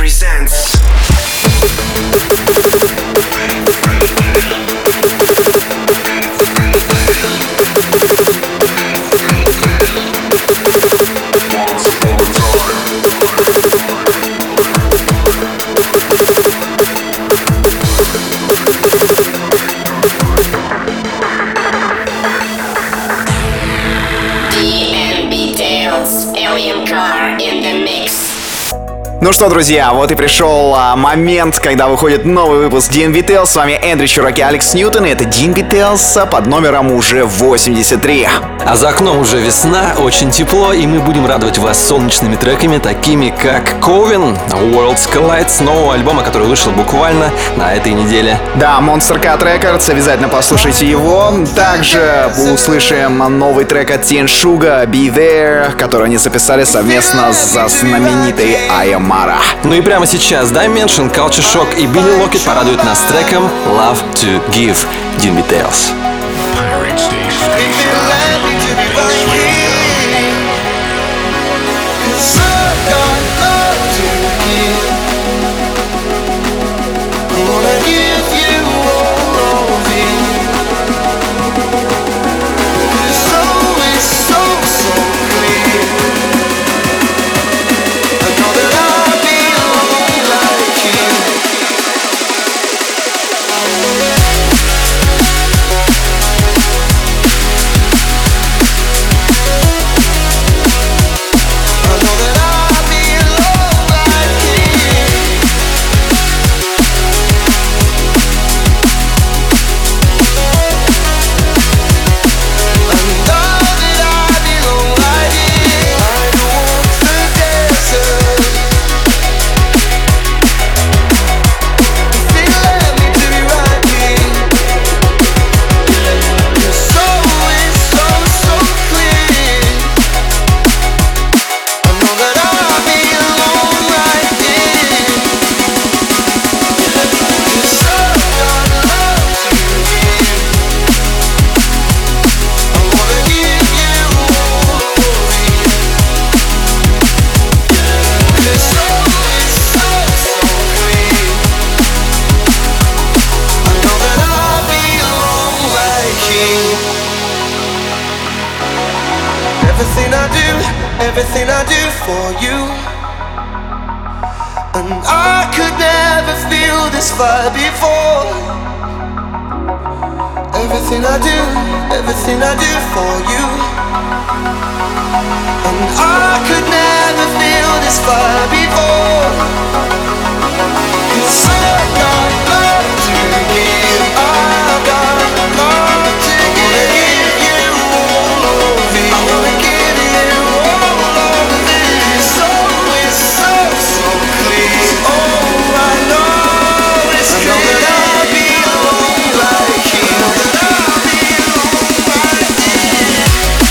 presents. Ну что, друзья, вот и пришел момент, когда выходит новый выпуск DNB Tales. С вами Эндрю Чурак и Алекс Ньютон, и это DNB Tales под номером уже 83. А за окном уже весна, очень тепло, и мы будем радовать вас солнечными треками, такими как Coven, Worlds Collide, с нового альбома, который вышел буквально на этой неделе. Да, Monster Cat Records, обязательно послушайте его. Также услышим новый трек от Тин Шуга, Be There, который они записали совместно со знаменитой Ayamara. Ну и прямо сейчас Dimension, Culture Shock и Билли Локет порадуют нас треком Love to Give. DNB Tales. Everything I do for you, and I could never feel this fire before. Everything I do for you, and I could never feel this fire before. 'Cause I got love to give, I got love to give you all of me. I wanna give you all of this. So it's so clear. Oh, I know it's clear. I know that I belong right here. I know that I belong right here.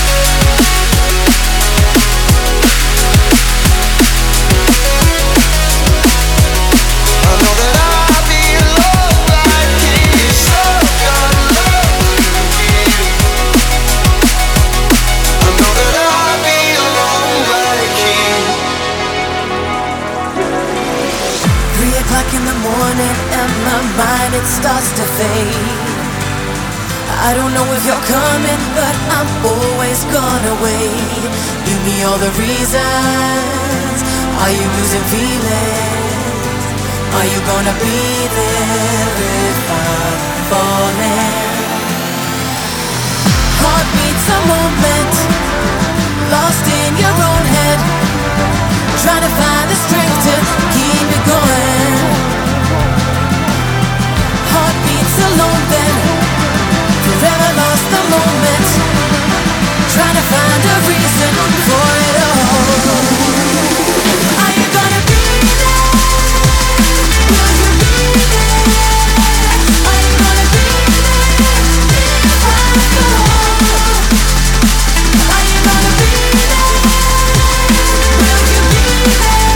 I know that I belong right here. So got love to give. I know that I belong right here. 3 o'clock in the morning and my mind it starts to fade. I don't know if you're coming, but I'm always gonna wait. Give me all the reasons. Are you losing feelings? Are you gonna be there if I'm falling? Heartbeats a moment, lost in your own head, trying to find the strength to keep it going. Heartbeats alone then, forever lost the moment, trying to find a reason for it all. Are you gonna be there? Will you be there? Are you gonna be there if I fall? Are you gonna be there? Will you be there?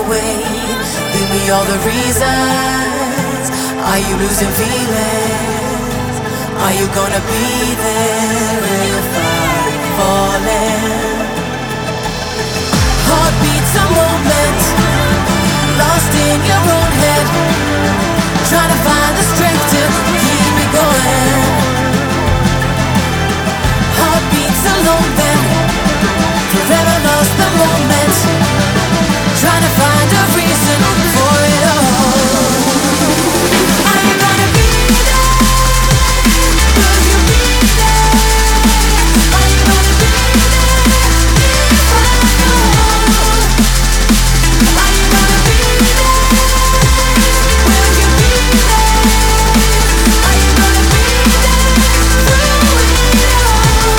away. Give me all the reasons. Are you losing feelings? Are you gonna be there if I'm falling? Heartbeats a moment, lost in your own head, trying to find the strength to keep it going. Heartbeats alone then, forever lost the moment, trying to find a reason for it all. Are you gonna be there? Will you be there? Are you gonna be there if I go? Are you gonna be there? Will you be there? Are you gonna be there through it all?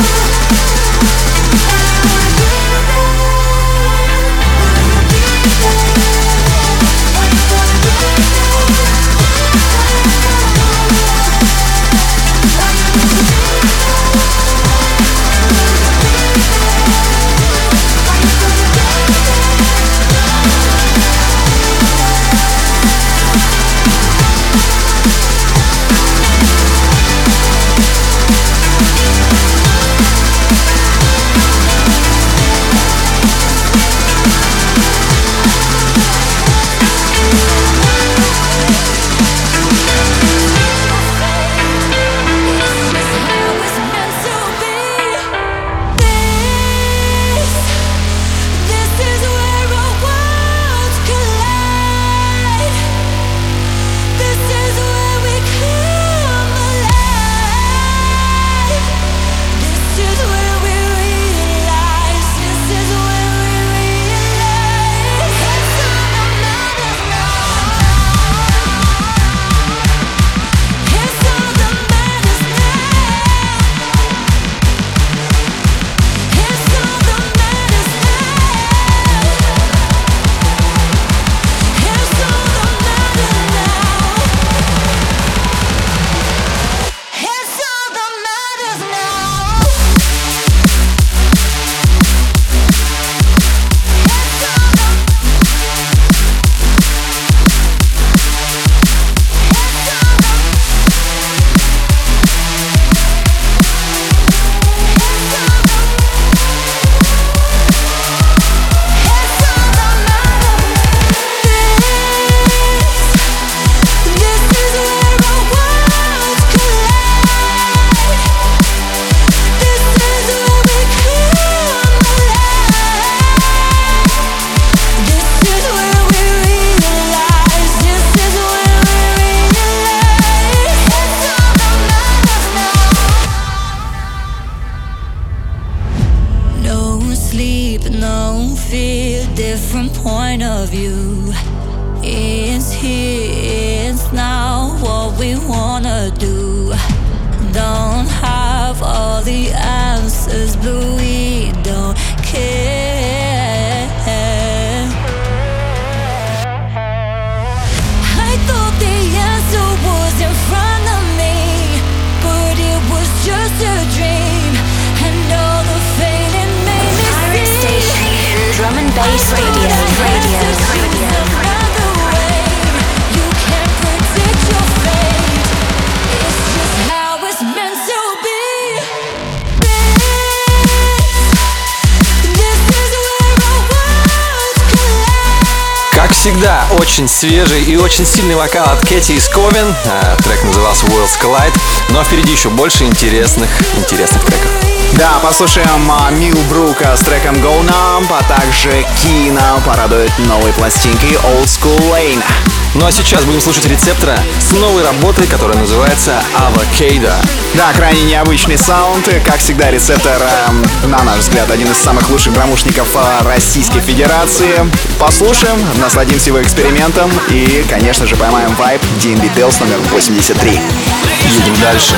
No fear, different point of view. It's here, it's now what we wanna do. Don't have all the answers, but we don't care. I thought the answer was in front of me, but it was just a dream. And all the fading made me Pirate see. Station, drum and bass radio. Another way, you can't predict your fate. It's just how it's meant to be. This is where our worlds collide. Как всегда, очень свежий и очень сильный вокал от Кэти из Ковен. Трек назывался Worlds Collide. Но впереди еще больше интересных треков. Да, послушаем Мил Брука с треком Go Numb, а также Кина порадует новой пластинкой Old School Lane. Ну а сейчас будем слушать Рецептора с новой работой, которая называется Avocado. Да, крайне необычный саунд. Как всегда, Рецептор, на наш взгляд, один из самых лучших промышленников Российской Федерации. Послушаем, насладимся его экспериментом и, конечно же, поймаем вайб D&B Tales номер 83. Едем дальше.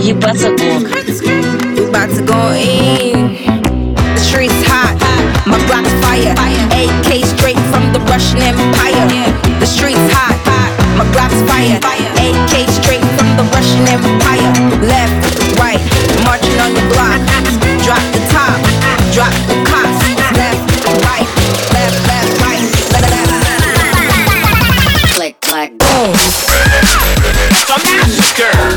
ебаться гон. We about to go in. The streets hot, my block's fire. AK straight from the Russian Empire. The streets hot, my block's fire. AK straight from the Russian Empire. Left, right, marching on your block. Drop the top, drop the cops. Left, right, left, right, left. Click, clack, boom. A massacre.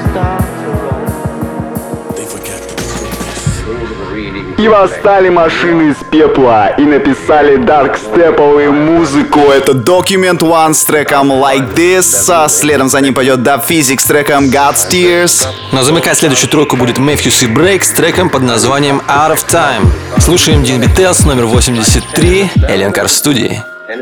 И восстали машины из пепла и написали даркстеповую музыку. Это Document One с треком Like This, а следом за ним пойдет Dub Physics с треком God's Tears. Но замыкать следующую тройку будет Matthews и Break с треком под названием Out of Time. Слушаем Dean Beatles номер 83, Alien Car в студии.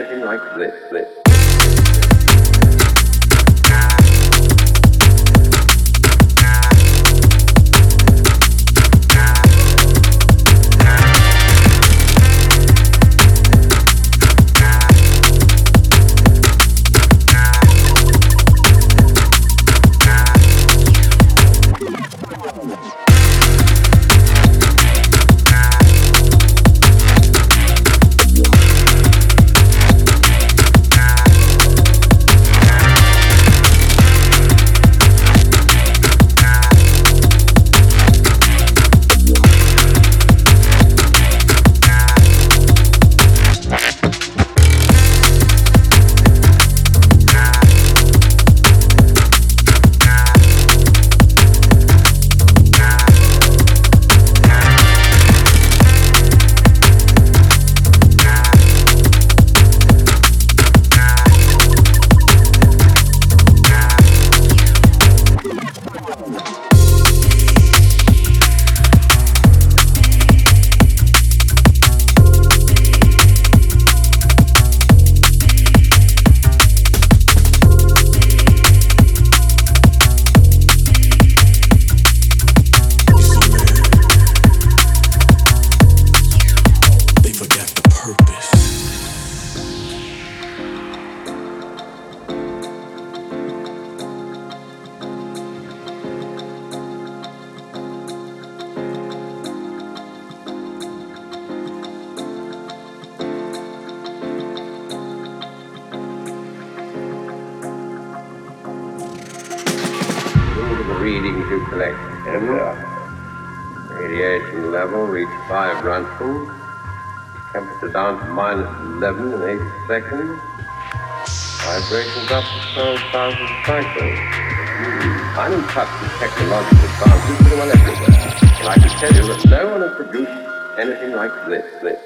Readings you collect. Radiation level reached 5 Ransons. Temperature down to -11 in 80 seconds. Vibrations up to 12,000 cycles. I'm in touch with technological advances pretty well everywhere. And I can tell you that no one has produced anything like this.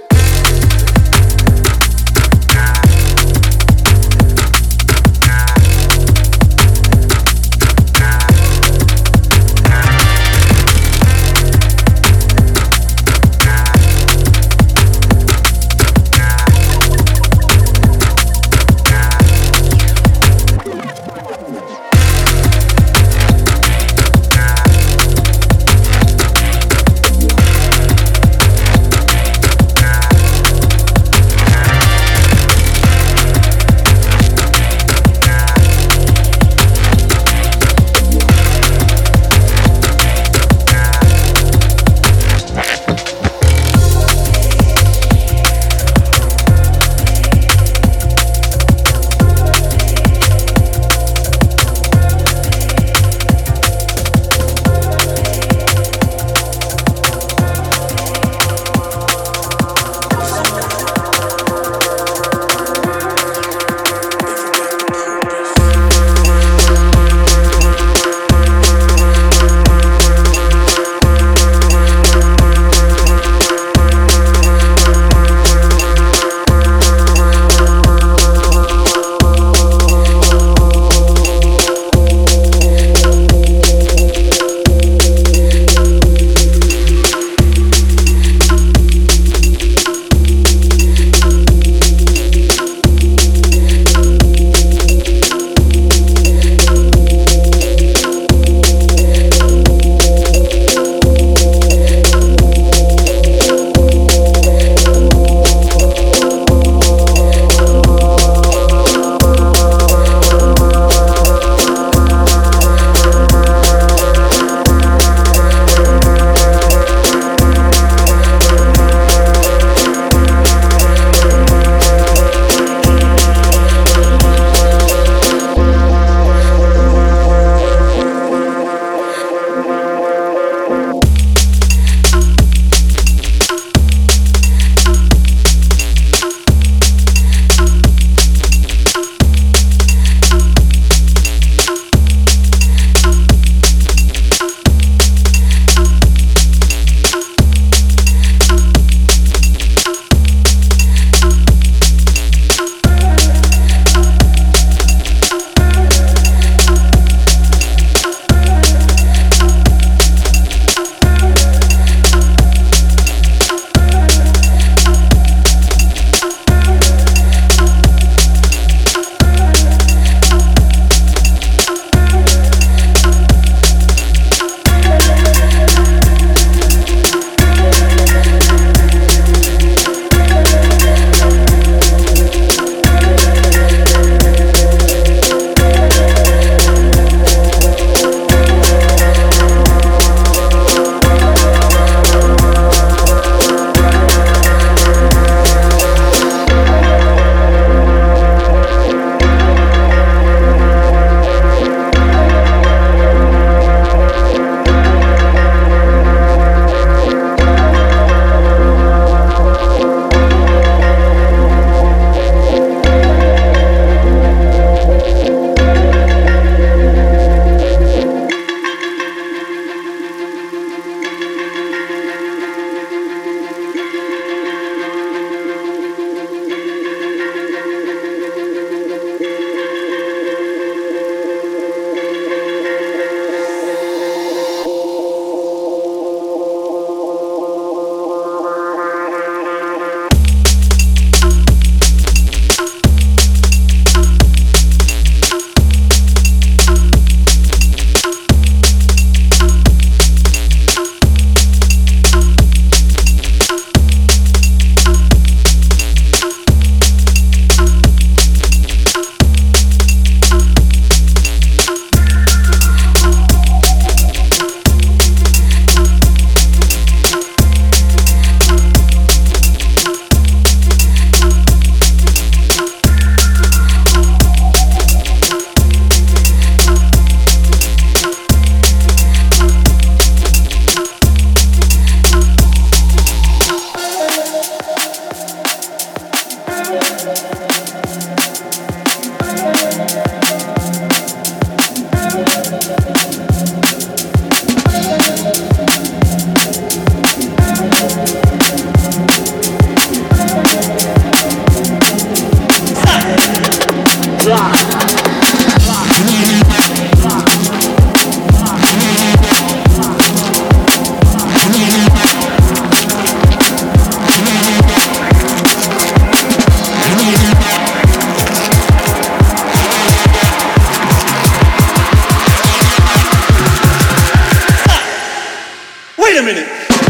a minute.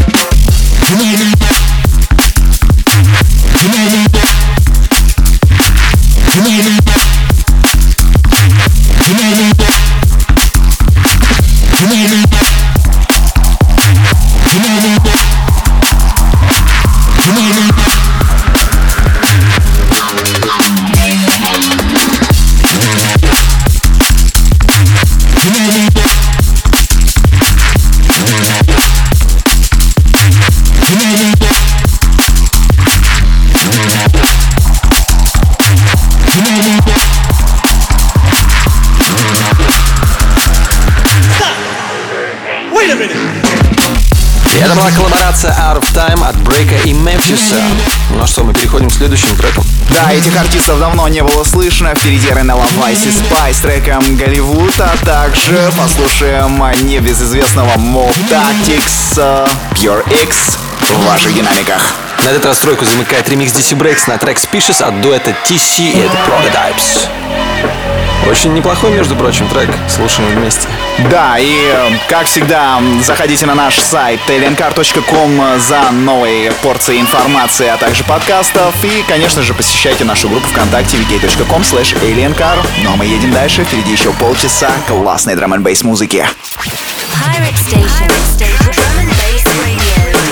Это была коллаборация Out of Time от Брейка и Мемфиса. Ну а что, мы переходим к следующим трекам. Да, этих артистов давно не было слышно. Впереди Ренелла Вайс и Спай с треком Голливуд, а также послушаем небезызвестного Mob Tactics Pure X в ваших динамиках. На этот раз тройку замыкает ремикс DC Breaks на трек Species от дуэта TC и это Prototypes. Очень неплохой, между прочим, трек. Слушаем вместе. Да, и как всегда, заходите на наш сайт aliencar.com за новой порцией информации, а также подкастов. И, конечно же, посещайте нашу группу ВКонтакте vk.com/aliencar. Ну а мы едем дальше. Впереди еще полчаса классной драм-н-бейс музыки. Pirate Station. Drum and Bass Radio.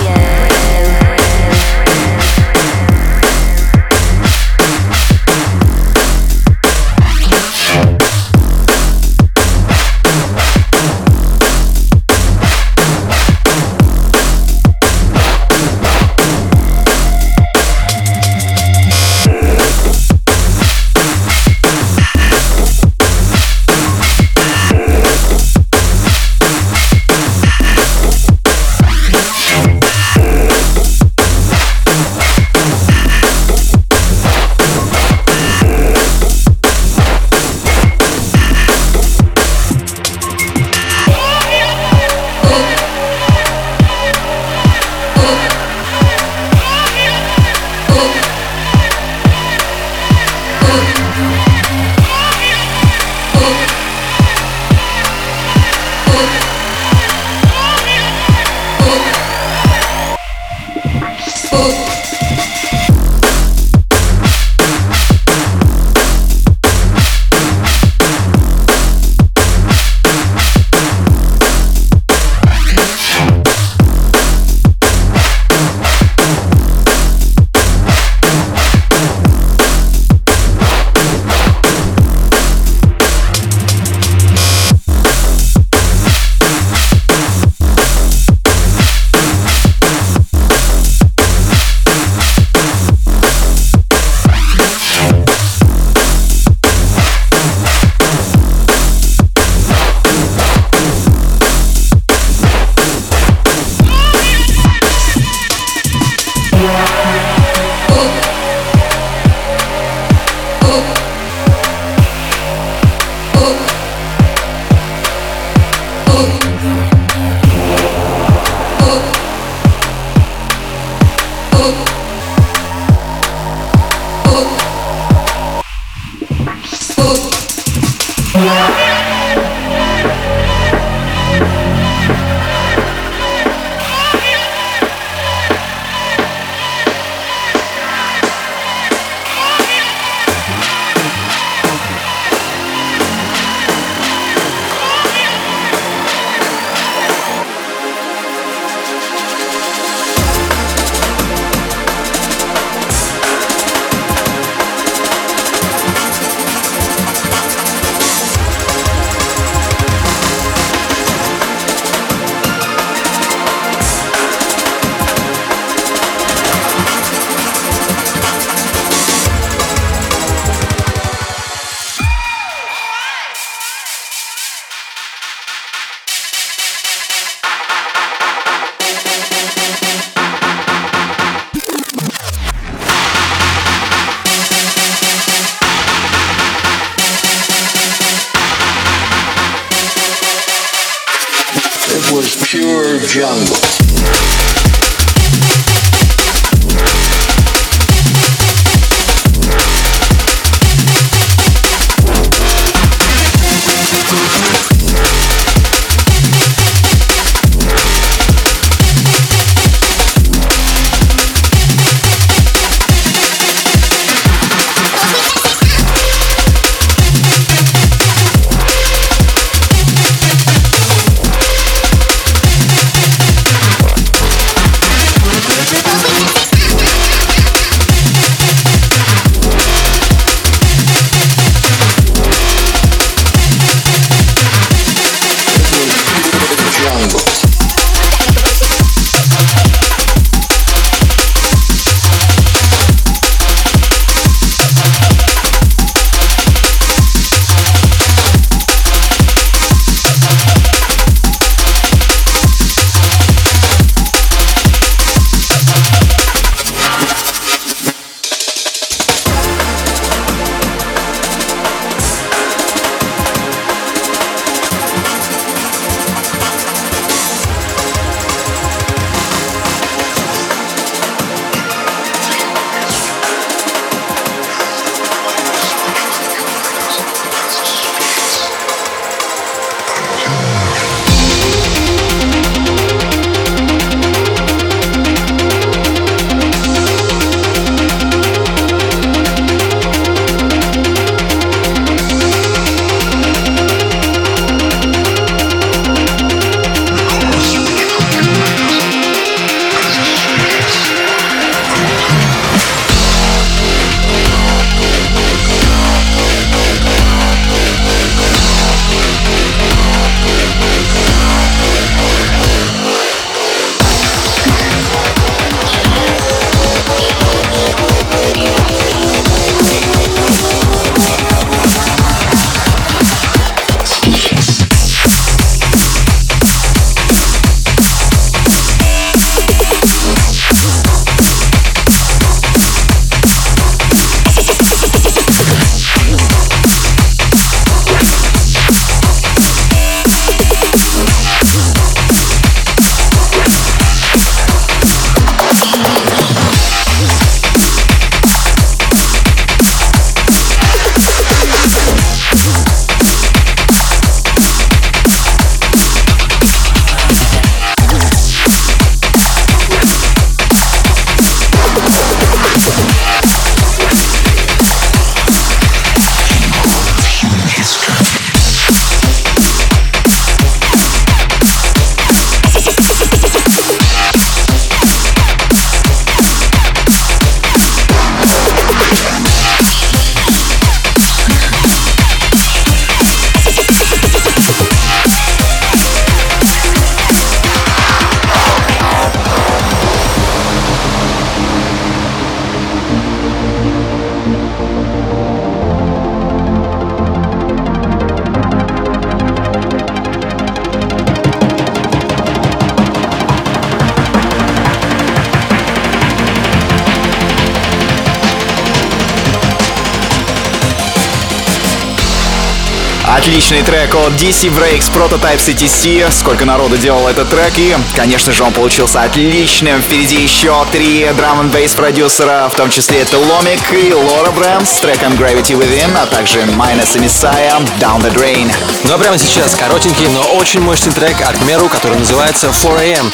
Pure jungle. Отличный трек от DC Breaks, Prototype CTC. Сколько народу делал этот трек, и, конечно же, он получился отличным. Впереди еще 3 драм-н-бейс продюсера, в том числе это Ломик и Лора Брэмс с треком Gravity Within, а также Minus и Messiah Down the Drain. Ну а прямо сейчас коротенький, но очень мощный трек от Меру, который называется 4am.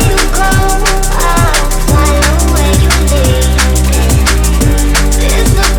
There's no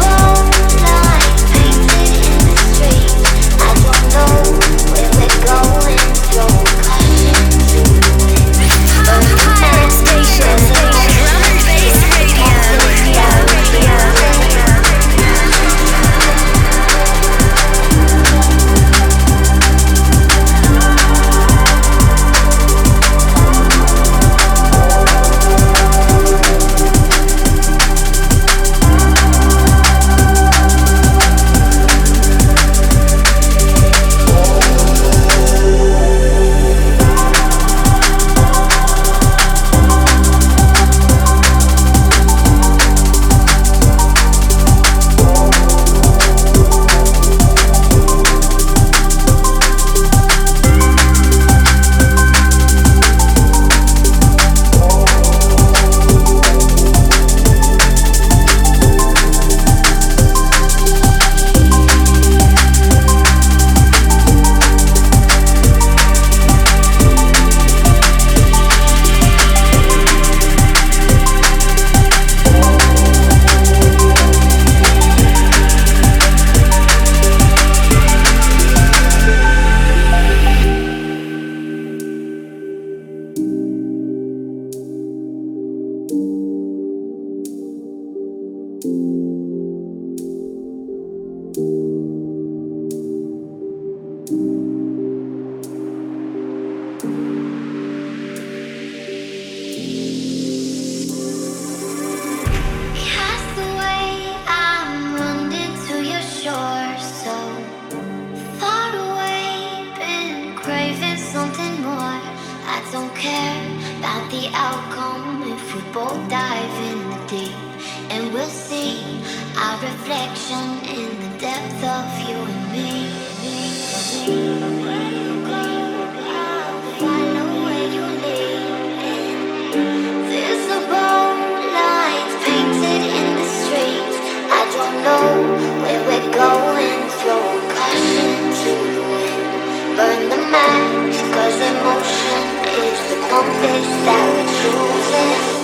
the outcome if we both dive in the deep, and we'll see our reflection in the depth of you and me. Where you go, I'll follow where you lead. Visible lines painted in the streets. I don't know where we're going. Throw caution to the wind. Burn the match, 'cause emotion is the compass that we're choosing.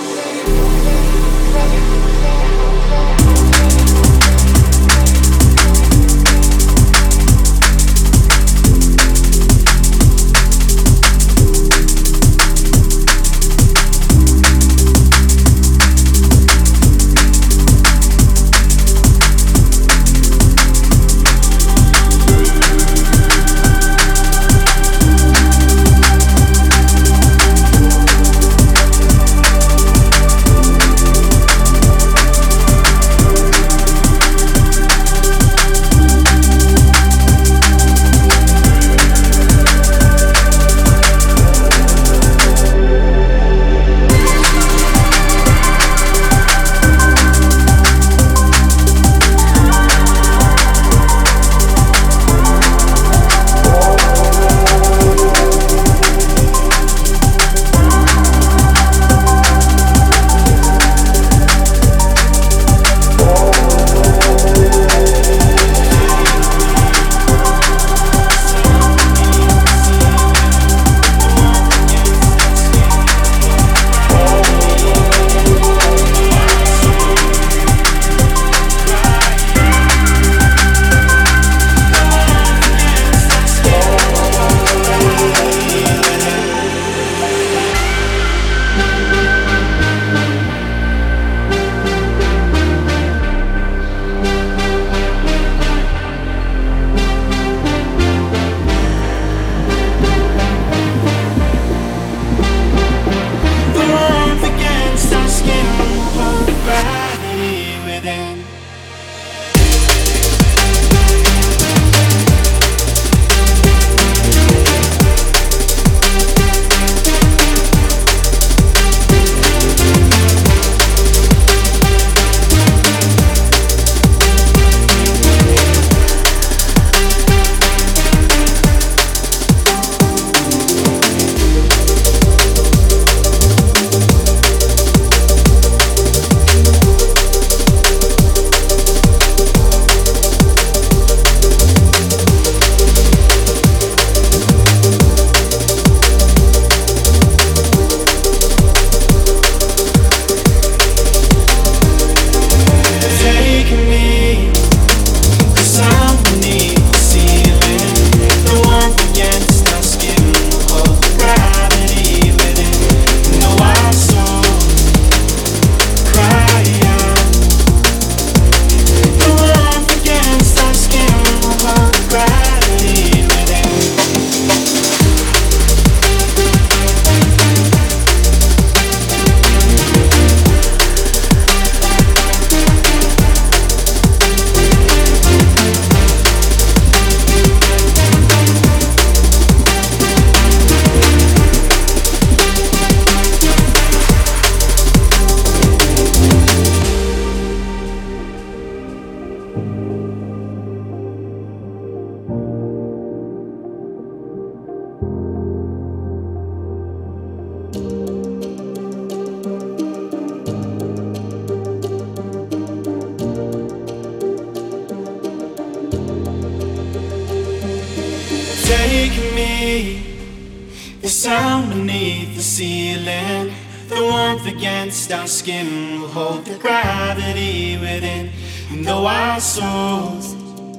Take me, the sound beneath the ceiling, the warmth against our skin will hold the gravity within. And though our souls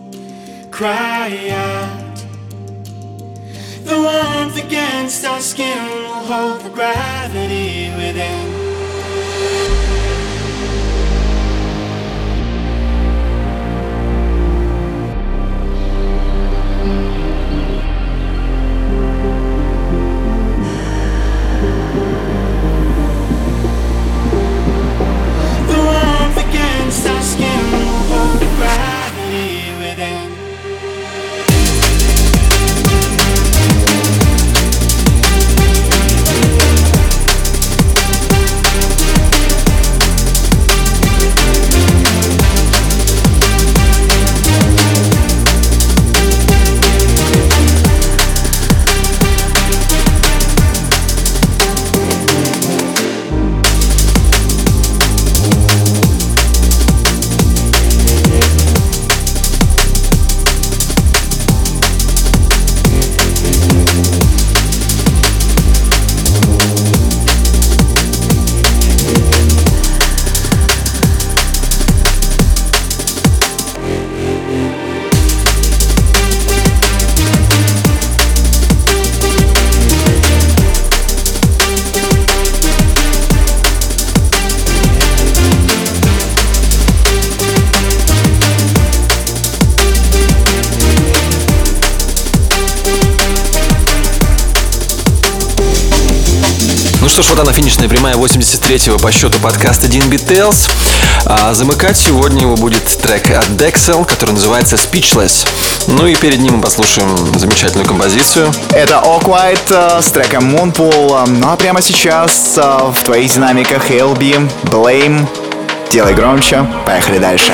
cry out, the warmth against our skin will hold the gravity within. что ж, вот она, финишная прямая 83-го по счету подкаста D&B Tales. А замыкать сегодня его будет трек от Dexel, который называется Speechless. Ну и перед ним мы послушаем замечательную композицию. Это Awkward с треком Moonpool. Ну а прямо сейчас в твоих динамиках LB, Blame. Делай громче, поехали дальше.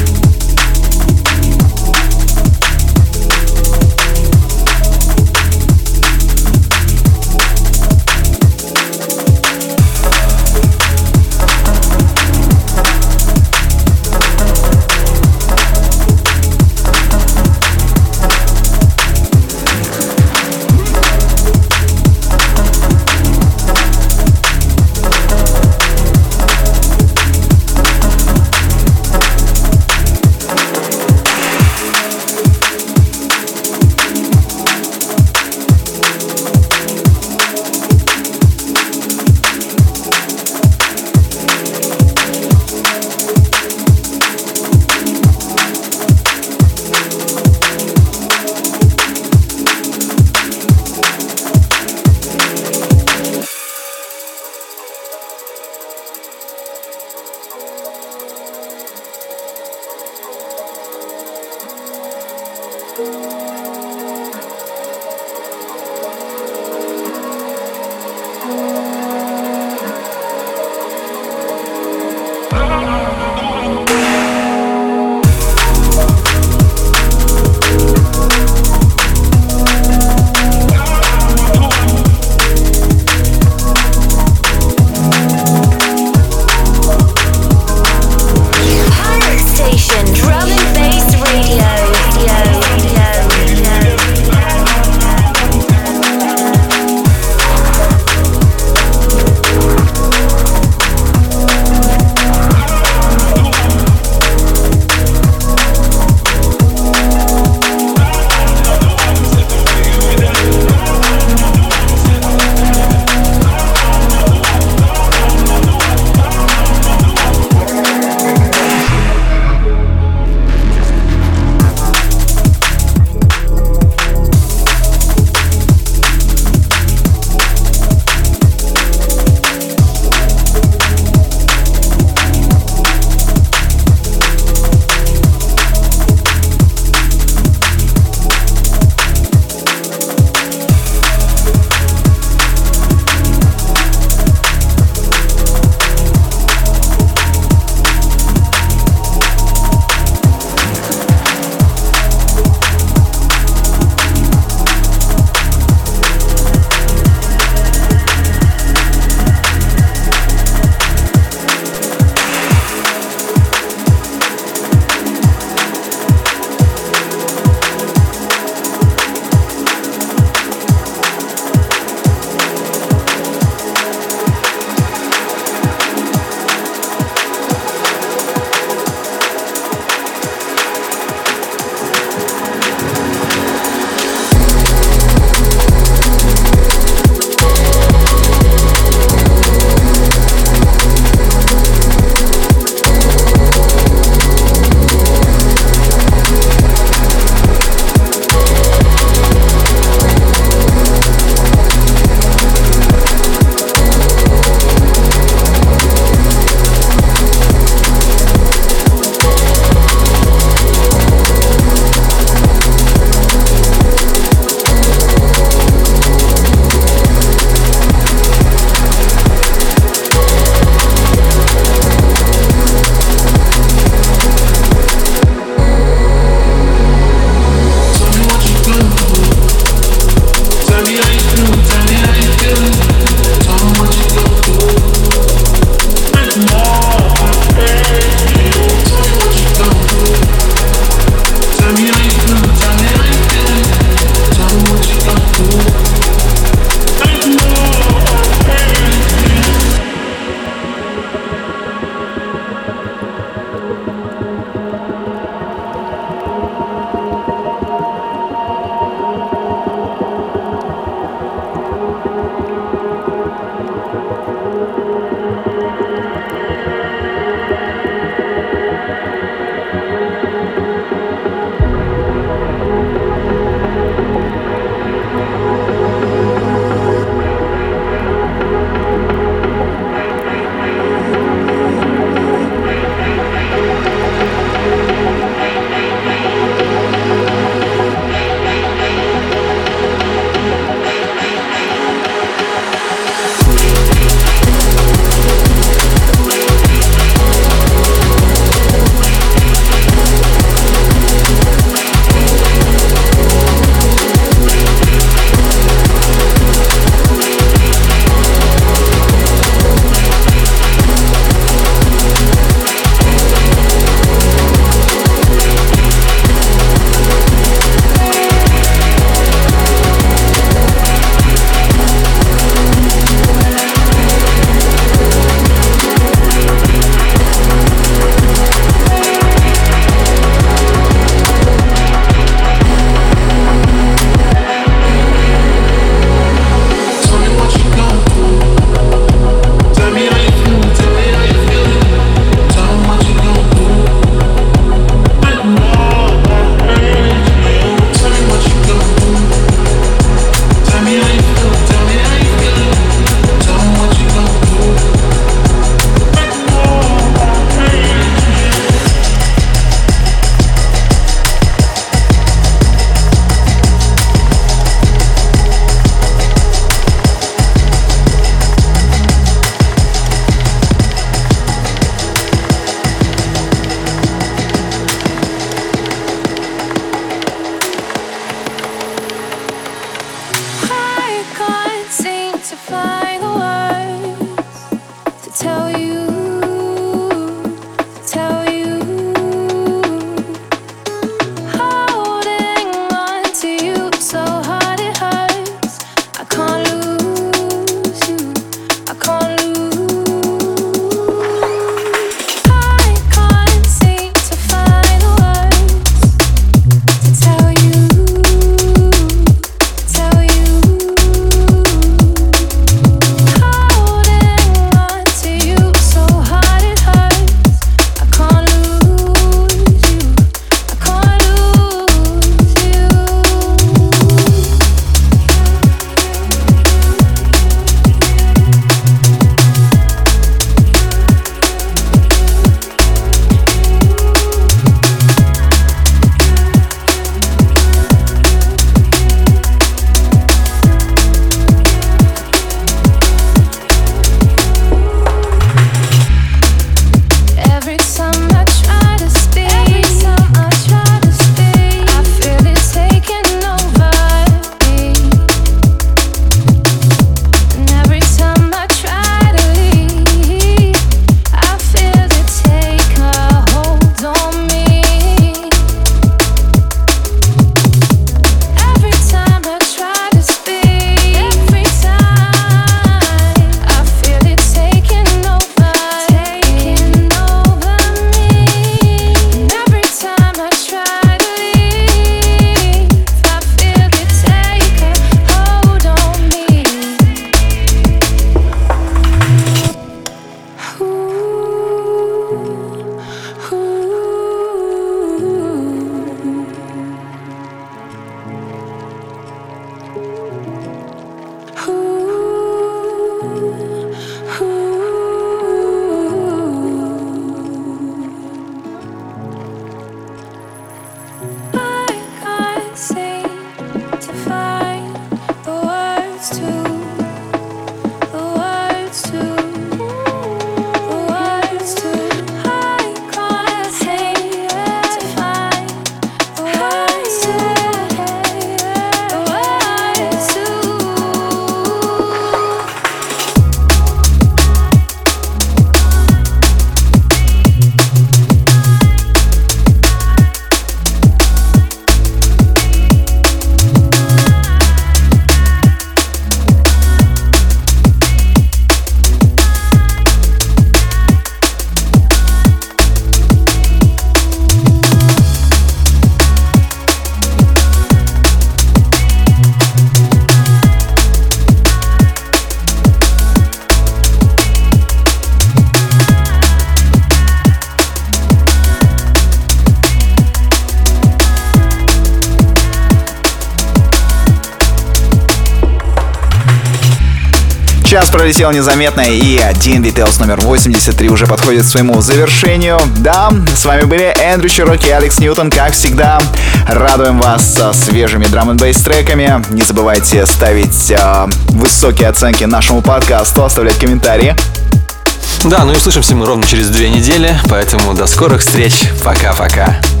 Час пролетел незаметно, и D&B Tales номер 83 уже подходит к своему завершению. Да, с вами были Эндрю Чироки и Алекс Ньютон, как всегда. Радуем вас со свежими драм-н-бейс треками. Не забывайте ставить высокие оценки нашему подкасту, оставлять комментарии. Да, ну и услышимся мы ровно через 2 недели, поэтому до скорых встреч. Пока-пока.